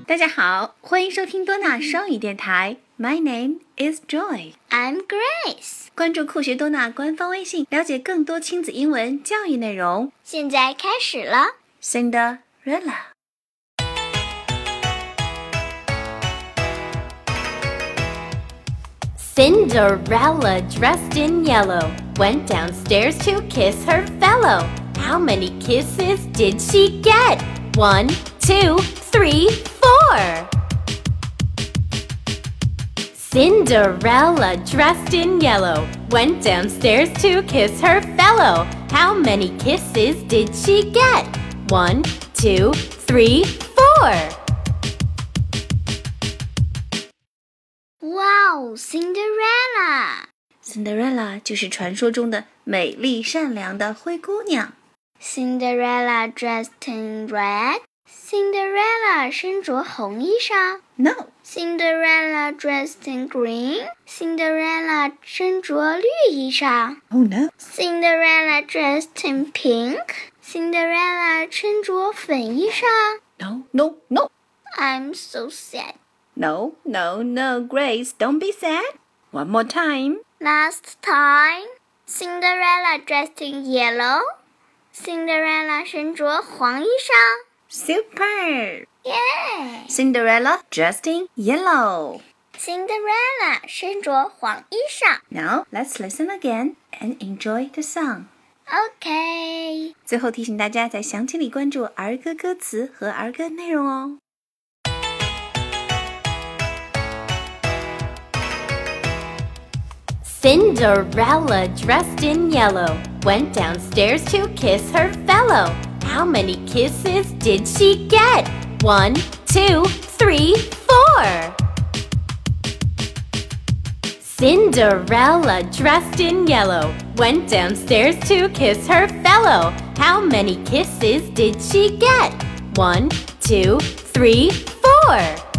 大家好，欢迎收听多纳双语电台。My name is Joy. I'm Grace. 关注酷学多纳官方微信，了解更多亲子英文教育内容。 现在开始了。 Cinderella. Cinderella, dressed in yellow, went downstairs to kiss her fellow. How many kisses did she get? 1, 2, 3, 4. Cinderella, dressed in yellow, went downstairs to kiss her fellow. How many kisses did she get? 1, 2, 3, 4. Wow, Cinderella! Cinderella 就是传说中的美丽善良的灰姑娘。 Cinderella dressed in red. Cinderella 身着红衣裳。 No. Cinderella dressed in green. Cinderella 身着绿衣裳。 Oh no. Cinderella dressed in pink. Cinderella 身着粉衣裳。 No, no, no. I'm so sad. No, no, no, Grace, don't be sad. One more time. Last time, Cinderella dressed in yellow. Cinderella 身着黄衣裳。 Super! Yeah! Cinderella dressed in yellow. Cinderella 身着黄衣裳。 Now, let's listen again and enjoy the song. OK. 最后提醒大家在详情里关注儿歌歌词和儿歌内容哦。 Cinderella, dressed in yellow, went downstairs to kiss her fellow. How many kisses did she get? 1, 2, 3, 4. Cinderella, dressed in yellow, went downstairs to kiss her fellow. How many kisses did she get? 1, 2, 3, 4.